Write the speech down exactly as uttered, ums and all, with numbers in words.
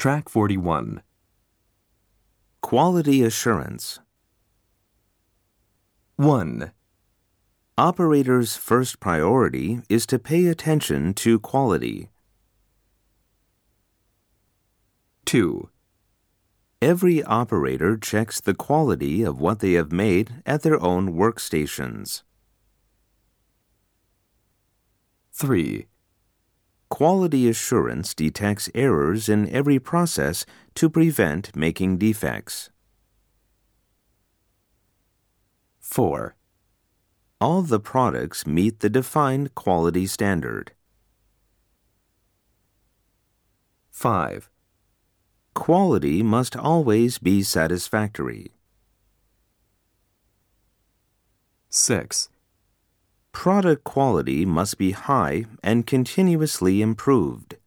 Track forty-one. Quality assurance. one. Operators' first priority is to pay attention to quality. two. Every operator checks the quality of what they have made at their own workstations. three. Quality assurance detects errors in every process to prevent making defects. four. All the products meet the defined quality standard. five. Quality must always be satisfactory. six. Product quality must be high and continuously improved.